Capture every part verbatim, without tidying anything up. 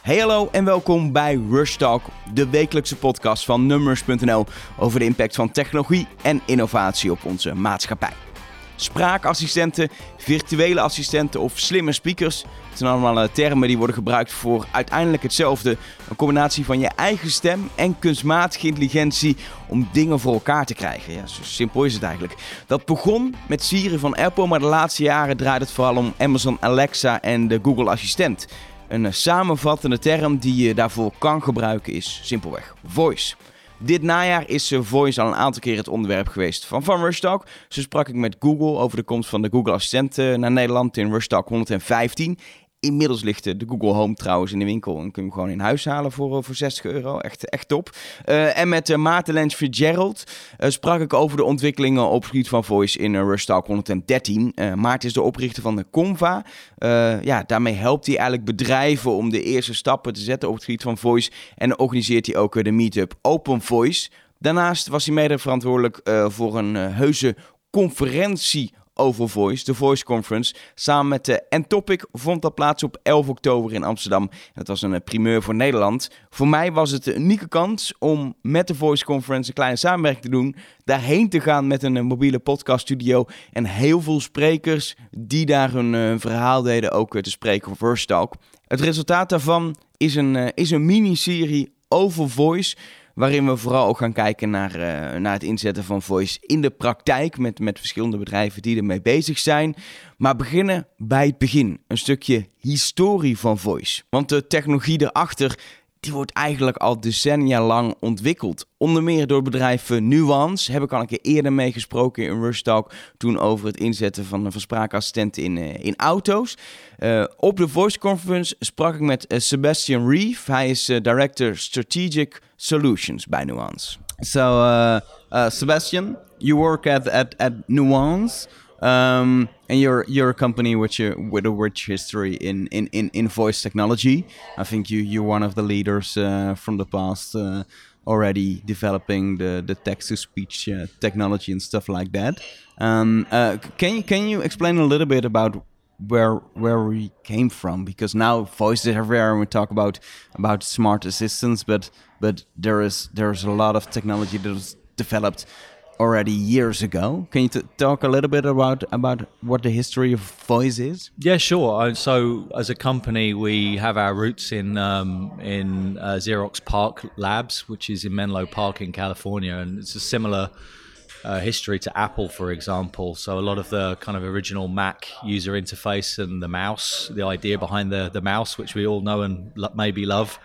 Hey hallo en welkom bij Rush Talk, de wekelijkse podcast van Numbers punt n l over de impact van technologie en innovatie op onze maatschappij. Spraakassistenten, virtuele assistenten of slimme speakers, het zijn allemaal termen die worden gebruikt voor uiteindelijk hetzelfde. Een combinatie van je eigen stem en kunstmatige intelligentie om dingen voor elkaar te krijgen. Ja, zo simpel is het eigenlijk. Dat begon met Siri van Apple, maar de laatste jaren draait het vooral om Amazon Alexa en de Google Assistent. Een samenvattende term die je daarvoor kan gebruiken is simpelweg voice. Dit najaar is Voice al een aantal keer het onderwerp geweest van, van Rush Talk. Zo sprak ik met Google over de komst van de Google Assistent naar Nederland in Rush Talk honderdvijftien. Inmiddels ligt de Google Home trouwens in de winkel en kun je hem gewoon in huis halen voor, voor zestig euro. Echt, echt top. Uh, en met uh, Maarten Lens Fitzgerald uh, sprak ik over de ontwikkelingen op het gebied van Voice in uh, Rush Talk honderddertien. Uh, Maarten is de oprichter van de Conva. Uh, ja, daarmee helpt hij eigenlijk bedrijven om de eerste stappen te zetten op het gebied van Voice. En organiseert hij ook uh, de meetup Open Voice. Daarnaast was hij mede verantwoordelijk uh, voor een uh, heuse conferentie over Voice, de Voice Conference. Samen met de N-Topic vond dat plaats op elf oktober in Amsterdam. Dat was een primeur voor Nederland. Voor mij was het een unieke kans om met de Voice Conference een kleine samenwerking te doen. Daarheen te gaan met een mobiele podcaststudio. En heel veel sprekers die daar hun uh, verhaal deden ook uh, te spreken voor Rush Talk. Het resultaat daarvan is een, uh, is een miniserie over Voice, waarin we vooral ook gaan kijken naar, uh, naar het inzetten van Voice in de praktijk met, met verschillende bedrijven die ermee bezig zijn. Maar beginnen bij het begin. Een stukje historie van Voice. Want de technologie erachter, die wordt eigenlijk al decennia lang ontwikkeld. Onder meer door het bedrijf Nuance. Heb ik al een keer eerder mee gesproken in Rush Talk. Toen over het inzetten van, van spraakassistenten in, uh, in auto's. Uh, op de Voice Conference sprak ik met uh, Sebastian Reeve. Hij is uh, Director Strategic Solutions bij Nuance. So, uh, uh, Sebastian, you work at, at, at Nuance. Um, and you're you're a company with you with a rich history in, in, in, in voice technology. I think you you're one of the leaders uh, from the past uh, already developing the, the text to speech uh, technology and stuff like that. Um, uh, can you can you explain a little bit about where where we came from? Because now voice is everywhere and we talk about about smart assistants, but but there is there is a lot of technology that was developed already years ago. Can you t- talk a little bit about about what the history of voice is? Yeah, sure. So, as a company, we have our roots in um, in uh, Xerox PARC Labs, which is in Menlo Park in California, and it's a similar uh, history to Apple, for example. So, a lot of the kind of original Mac user interface and the mouse, the idea behind the the mouse, which we all know and lo- maybe love,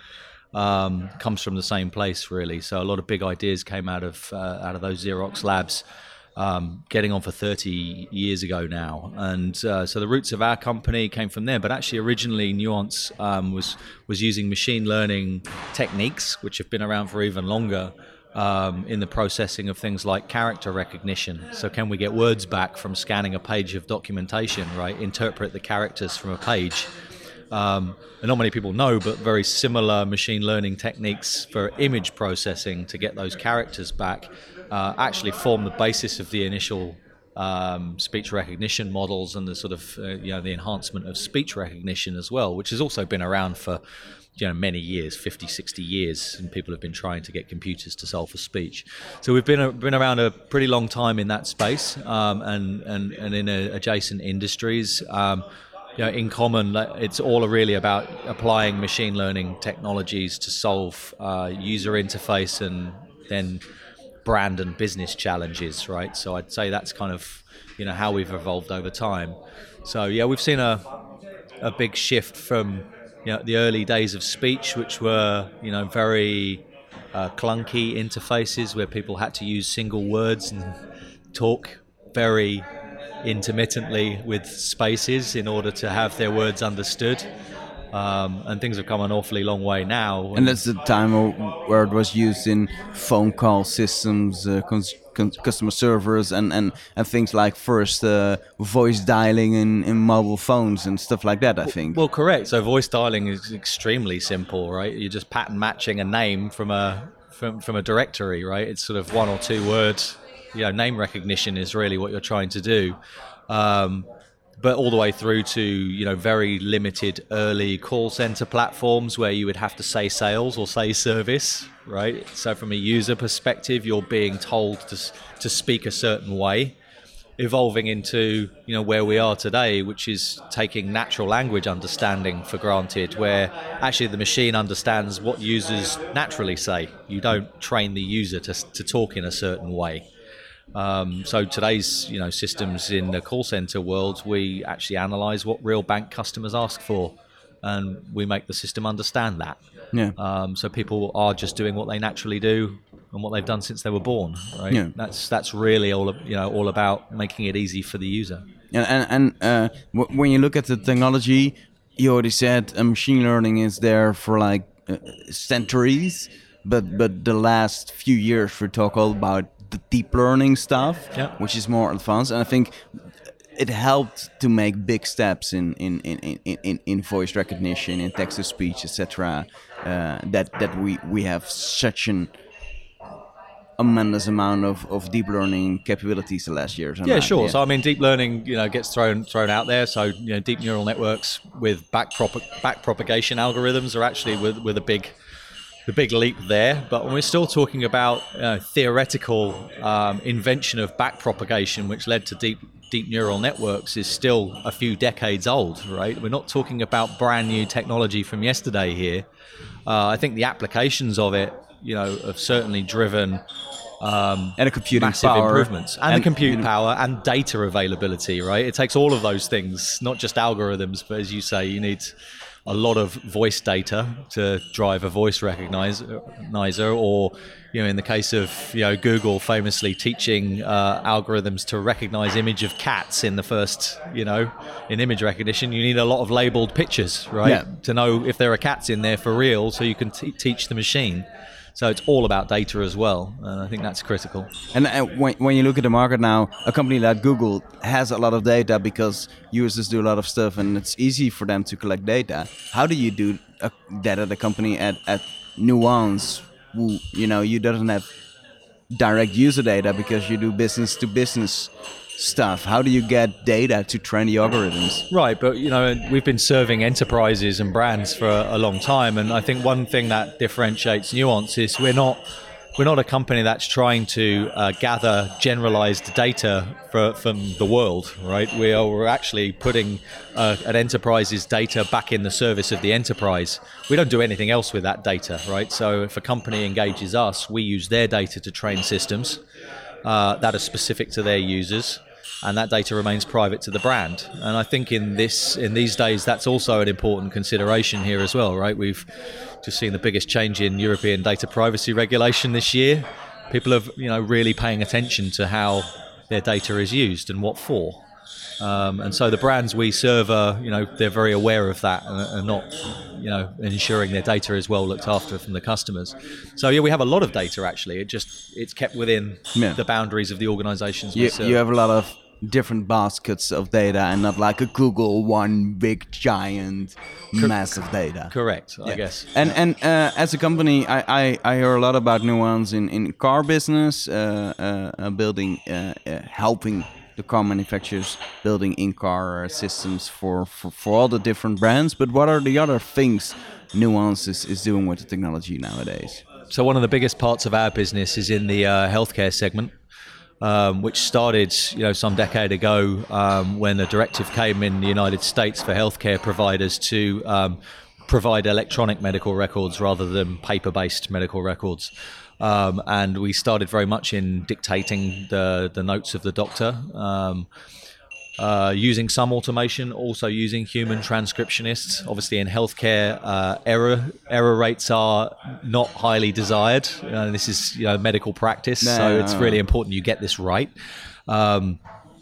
Um, comes from the same place, really. So a lot of big ideas came out of uh, out of those Xerox labs, um, getting on for thirty years ago now. And uh, so the roots of our company came from there. But actually, originally, Nuance um, was was using machine learning techniques, which have been around for even longer, um, in the processing of things like character recognition. So can we get words back from scanning a page of documentation, right? Interpret the characters from a page. Um, and not many people know, but very similar machine learning techniques for image processing to get those characters back uh, actually form the basis of the initial um, speech recognition models and the sort of uh, you know the enhancement of speech recognition as well, which has also been around for you know many years, fifty, sixty years, and people have been trying to get computers to solve for speech. So we've been a, been around a pretty long time in that space, um, and and and in a, adjacent industries. Um, You know, in common, it's all really about applying machine learning technologies to solve uh, user interface and then brand and business challenges, right? So I'd say that's kind of, you know, how we've evolved over time. So yeah, we've seen a a big shift from, you know, the early days of speech, which were, you know, very uh, clunky interfaces where people had to use single words and talk very intermittently with spaces in order to have their words understood. Um, and things have come an awfully long way now. And that's the time where it was used in phone call systems, uh, cons- con- customer servers, and, and, and things like first uh, voice dialing in, in mobile phones and stuff like that, I think. Well, correct. So voice dialing is extremely simple, right? You're just pattern matching a name from a from, from a directory, right? It's sort of one or two words. You know, name recognition is really what you're trying to do. Um, but all the way through to, you know, very limited early call center platforms where you would have to say sales or say service, right? So from a user perspective, you're being told to to speak a certain way, evolving into, you know, where we are today, which is taking natural language understanding for granted, where actually the machine understands what users naturally say. You don't train the user to to talk in a certain way. Um, so today's, you know, systems in the call center world, we actually analyze what real bank customers ask for, and we make the system understand that. Yeah. Um, so people are just doing what they naturally do and what they've done since they were born, right? Yeah. That's that's really all, you know, all about making it easy for the user. And and, and uh, w- when you look at the technology, you already said uh, machine learning is there for like uh, centuries, but but the last few years we talk all about the deep learning stuff, Yeah. which is more advanced, and I think it helped to make big steps in in in, in, in, in voice recognition, in text to speech, et cetera. Uh, that that we we have such an tremendous amount of, of deep learning capabilities the last years. Yeah, that, sure. yeah. So I mean, deep learning, you know, gets thrown thrown out there. So, you know, deep neural networks with back prop- back propagation algorithms are actually with with a big the big leap there. But when we're still talking about uh, theoretical um, invention of back propagation, which led to deep deep neural networks, is still a few decades old, right? We're not talking about brand new technology from yesterday here. Uh, I think the applications of it, you know, have certainly driven um, and a computing massive power, improvements, and, and the compute you know, power and data availability, right? It takes all of those things, not just algorithms, but as you say, you need a lot of voice data to drive a voice recognizer, or, you know, in the case of, you know, Google famously teaching uh, algorithms to recognize image of cats in the first, you know, in image recognition, you need a lot of labeled pictures, right? Yeah. To know if there are cats in there for real, so you can t- teach the machine. So it's all about data as well, and I think that's critical. And uh, when, when you look at the market now, a company like Google has a lot of data because users do a lot of stuff, and it's easy for them to collect data. How do you do uh, that at a company at, at Nuance, who, you know, you doesn't have direct user data because you do business to business stuff? How do you get data to train the algorithms? Right, but, you know, we've been serving enterprises and brands for a, a long time, and I think one thing that differentiates Nuance is we're not we're not a company that's trying to uh, gather generalized data for, from the world, right? We are we're actually putting uh, an enterprise's data back in the service of the enterprise. We don't do anything else with that data, right? So if a company engages us, we use their data to train systems uh, that are specific to their users, and that data remains private to the brand. And I think in this in these days, that's also an important consideration here as well, right? We've just seen the biggest change in European data privacy regulation this year. People are, you know, really paying attention to how their data is used and what for. Um, and so the brands we serve are, you know, they're very aware of that and are not, you know, ensuring their data is well looked after from the customers. So yeah, we have a lot of data actually. It just it's kept within Yeah. the boundaries of the organizations we You, serve. you have a lot of different baskets of data and not like a Google one big giant massive data. Correct, I Yeah. guess. And and uh, as a company, I, I, I hear a lot about Nuance in, in car business, uh, uh, uh, building, uh, uh, helping the car manufacturers building in-car systems for, for, for all the different brands. But what are the other things Nuance is, is doing with the technology nowadays? So one of the biggest parts of our business is in the uh, healthcare segment. Um, which started, you know, some decade ago um, when a directive came in the United States for healthcare providers to um, provide electronic medical records rather than paper-based medical records. Um, and we started very much in dictating the, the notes of the doctor, um, uh, using some automation, also using human transcriptionists. Obviously, in healthcare, uh, error error rates are not highly desired. Uh, this is, you know, medical practice, No, so no, it's no. really important you get this right. Um,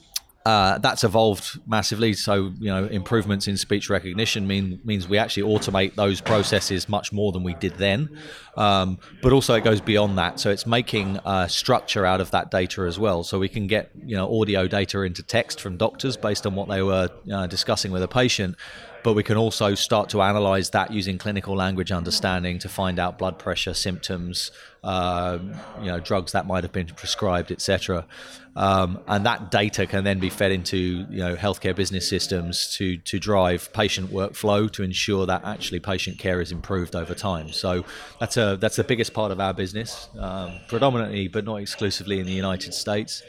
uh, that's evolved massively. So, you know, improvements in speech recognition mean means we actually automate those processes much more than we did then. Um, but also it goes beyond that. So it's making uh, structure out of that data as well. So we can get, you know, audio data into text from doctors based on what they were uh, discussing with a patient. but we can also start to analyze that using clinical language understanding to find out blood pressure symptoms, uh, you know, drugs that might have been prescribed, et cetera. Um, and that data can then be fed into, you know, healthcare business systems to to drive patient workflow to ensure that actually patient care is improved over time. So that's a that's the biggest part of our business, um, predominantly but not exclusively in the United States.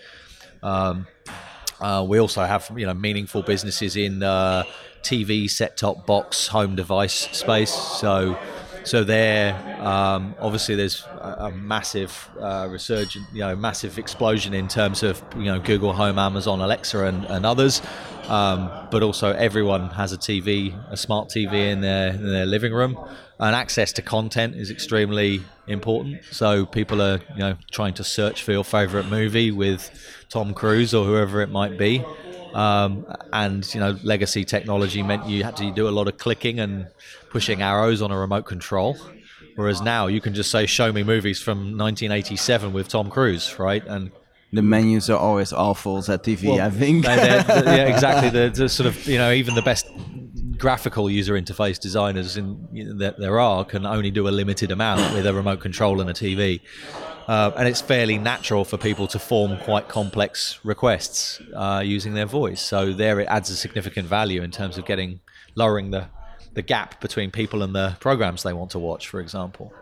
Um, uh, we also have, you know, meaningful businesses in uh, T V, set-top box, home device space. So. So there, um, obviously, there's a, a massive uh, resurgent, you know, massive explosion in terms of, you know, Google Home, Amazon, Alexa, and, and others. Um, but also, everyone has a T V, a smart T V in their in their living room, and access to content is extremely important. So people are, you know, trying to search for your favorite movie with Tom Cruise or whoever it might be. Um, and, you know, legacy technology meant you had to do a lot of clicking and pushing arrows on a remote control. Whereas now you can just say, show me movies from nineteen eighty-seven with Tom Cruise, right? And the menus are always awful at T V, well, I think. they're, they're, yeah, exactly. The, the sort of, you know, even the best graphical user interface designers in, you know, that there are can only do a limited amount with a remote control and a T V. Uh, and it's fairly natural for people to form quite complex requests uh, using their voice. So there it adds a significant value in terms of getting, lowering the, the gap between people and the programs they want to watch, for example.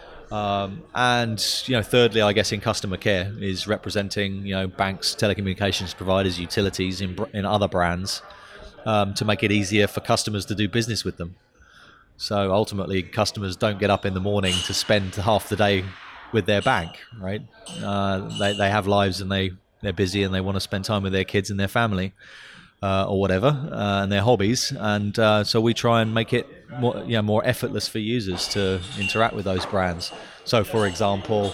Um, and, you know, thirdly, I guess in customer care is representing, you know, banks, telecommunications providers, utilities in, in other brands um, to make it easier for customers to do business with them. So ultimately, customers don't get up in the morning to spend half the day with their bank, right? Uh, they they have lives and they they're busy and they want to spend time with their kids and their family, uh, or whatever, uh, and their hobbies. And uh, so we try and make it more, you know, more effortless for users to interact with those brands. So, for example,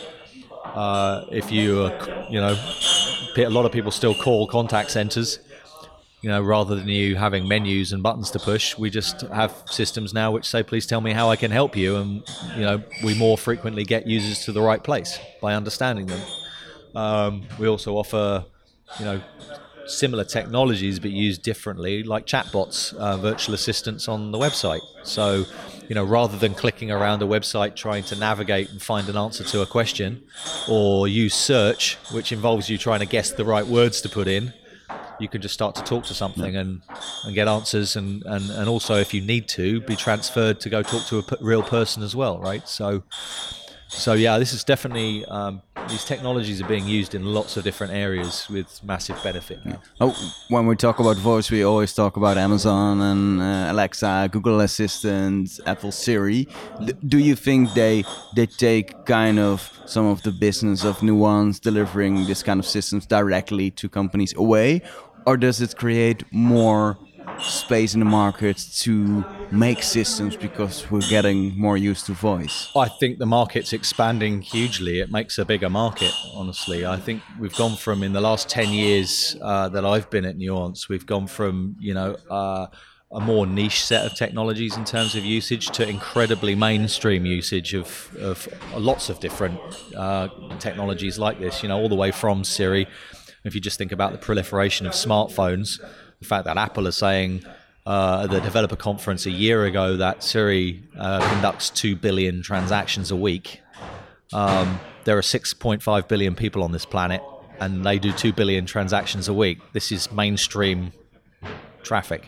uh, if you uh, you know, a lot of people still call contact centers. You know, rather than you having menus and buttons to push, we just have systems now which say, please tell me how I can help you. And, you know, we more frequently get users to the right place by understanding them. Um, we also offer, you know, similar technologies but used differently, like chatbots, uh, virtual assistants on the website. So, you know, rather than clicking around a website trying to navigate and find an answer to a question, or use search, which involves you trying to guess the right words to put in, you can just start to talk to something and, and get answers, and, and, and also, if you need to, be transferred to go talk to a p- real person as well, right? So, so yeah, this is definitely, um, these technologies are being used in lots of different areas with massive benefit. Yeah. Oh, when we talk about voice, we always talk about Amazon and uh, Alexa, Google Assistant, Apple Siri. D- do you think they they take kind of some of the business of Nuance delivering this kind of systems directly to companies away? Or does it create more space in the market to make systems because we're getting more used to voice? I think the market's expanding hugely. It makes a bigger market, honestly. I think we've gone from, in the last ten years uh, that I've been at Nuance, we've gone from, you know, uh, a more niche set of technologies in terms of usage to incredibly mainstream usage of, of lots of different uh, technologies like this, you know, all the way from Siri. If you just think about the proliferation of smartphones, the fact that Apple is saying uh, at the developer conference a year ago that Siri uh, conducts two billion transactions a week. Um, there are six point five billion people on this planet, and they do two billion transactions a week. This is mainstream traffic.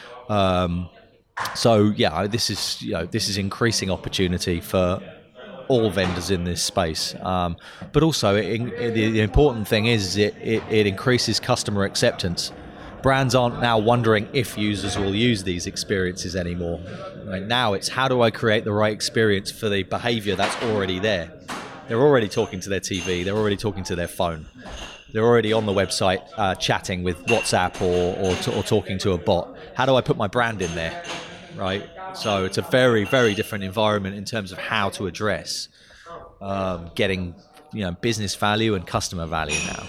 Um, so yeah, this is, you know, this is increasing opportunity for all vendors in this space, um, but also it, it, the, the important thing is it, it, it increases customer acceptance. Brands aren't now wondering if users will use these experiences anymore. Right now, it's how do I create the right experience for the behavior that's already there. They're already talking to their T V. They're already talking to their phone. They're already on the website uh, chatting with WhatsApp or, or, t- or talking to a bot. How do I put my brand in there, right? So it's a very, very different environment in terms of how to address um, getting, you know, business value and customer value now.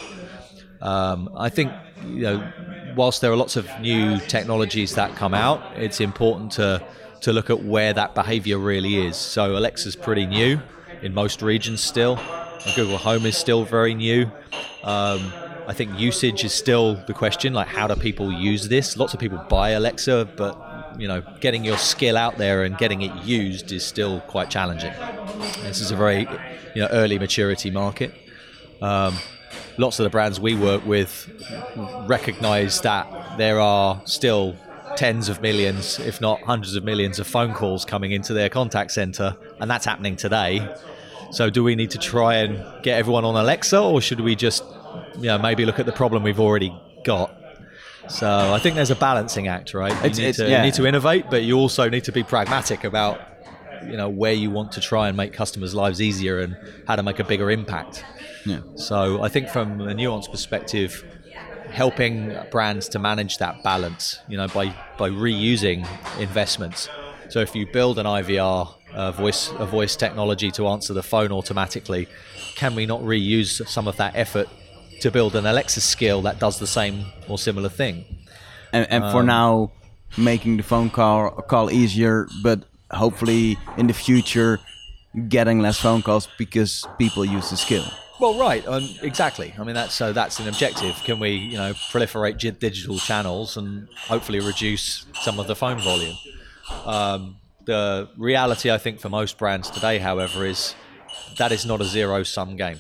Um, I think, you know, whilst there are lots of new technologies that come out, it's important to to look at where that behavior really is. So Alexa's pretty new in most regions still. Google Home is still very new. Um, I think usage is still the question, like how do people use this? Lots of people buy Alexa, but you know, getting your skill out there and getting it used is still quite challenging. This is a very, you know, early maturity market. Um, lots of the brands we work with recognize that there are still tens of millions, if not hundreds of millions of phone calls coming into their contact center, and that's happening today. So do we need to try and get everyone on Alexa, or should we just, you know, maybe look at the problem we've already got? So I think there's a balancing act, right? You, It's- need, it's- to, yeah. you need to innovate, but you also need to be pragmatic about, you know, where you want to try and make customers' lives easier and how to make a bigger impact. Yeah. So I think from a Nuance perspective, helping brands to manage that balance, you know, by, by reusing investments. So if you build an I V R, uh, voice a voice technology to answer the phone automatically, can we not reuse some of that effort to build an Alexa skill that does the same or similar thing? And, and for Um, now, making the phone call call easier, but hopefully in the future, getting less phone calls because people use the skill. Well, right, um, exactly. I mean, that's so that's an objective. Can we, you know, proliferate gi- digital channels and hopefully reduce some of the phone volume? Um, the reality, I think, for most brands today, however, is that is not a zero-sum game.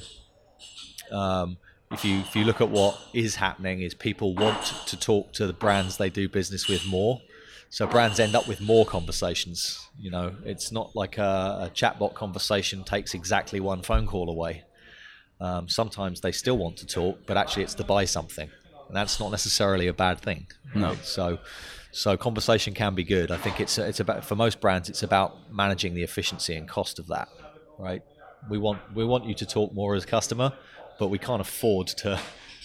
Um, if you if you look at what is happening, is people want to talk to the brands they do business with more. So brands end up with more conversations. You know, it's not like a, a chatbot conversation takes exactly one phone call away. Um, sometimes they still want to talk, but actually it's to buy something, and that's not necessarily a bad thing. No. Right? So, so conversation can be good. I think it's it's about, for most brands, it's about managing the efficiency and cost of that. Right? We want we want you to talk more as a customer, but we can't afford to,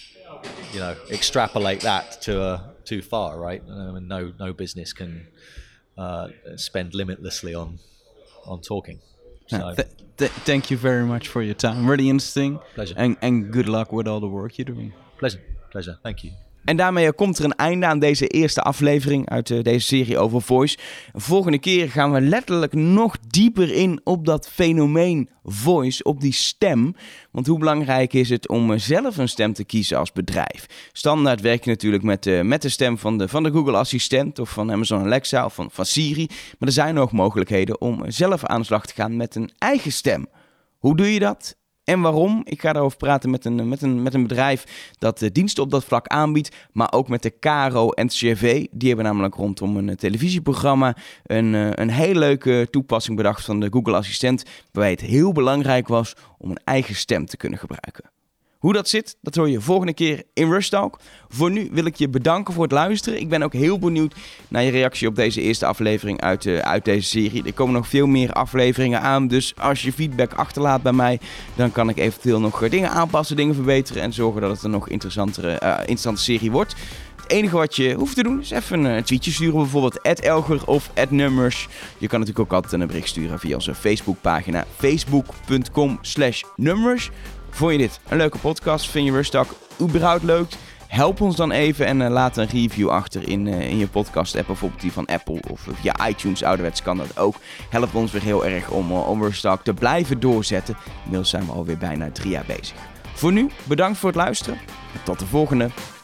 you know, extrapolate that to uh, too far. Right? I mean, no no business can uh, spend limitlessly on on talking. So, Yeah, th- th- thank you very much for your time. Really interesting. Pleasure. And, and good luck with all the work you're doing. pleasure, pleasure. Thank you. En daarmee komt er een einde aan deze eerste aflevering uit uh, deze serie over voice. Volgende keer gaan we letterlijk nog dieper in op dat fenomeen voice, op die stem. Want hoe belangrijk is het om uh, zelf een stem te kiezen als bedrijf? Standaard werk je natuurlijk met, uh, met de stem van de, van de Google Assistent of van Amazon Alexa of van, van Siri. Maar er zijn ook mogelijkheden om zelf aan de slag te gaan met een eigen stem. Hoe doe je dat? En waarom? Ik ga daarover praten met een, met een, met een bedrijf dat uh, diensten op dat vlak aanbiedt, maar ook met de Caro en C V. Die hebben namelijk rondom een uh, televisieprogramma een, uh, een hele leuke toepassing bedacht van de Google Assistent, waarbij het heel belangrijk was om een eigen stem te kunnen gebruiken. Hoe dat zit, dat hoor je volgende keer in Rush Talk. Voor nu wil ik je bedanken voor het luisteren. Ik ben ook heel benieuwd naar je reactie op deze eerste aflevering uit, uh, uit deze serie. Er komen nog veel meer afleveringen aan, dus als je feedback achterlaat bij mij, dan kan ik eventueel nog uh, dingen aanpassen, dingen verbeteren en zorgen dat het een nog interessantere, uh, interessante serie wordt. Het enige wat je hoeft te doen is even een tweetje sturen, bijvoorbeeld at Elger of at Numbers. Je kan natuurlijk ook altijd een bericht sturen via onze Facebookpagina facebook.com slash numbers. Vond je dit een leuke podcast? Vind je Rush Talk überhaupt leuk? Help ons dan even en uh, laat een review achter in, uh, in je podcast app, bijvoorbeeld die van Apple of uh, via iTunes, ouderwets kan dat ook. Helpt ons weer heel erg om, uh, om Rush Talk te blijven doorzetten. Inmiddels zijn we alweer bijna drie jaar bezig. Voor nu, bedankt voor het luisteren en tot de volgende.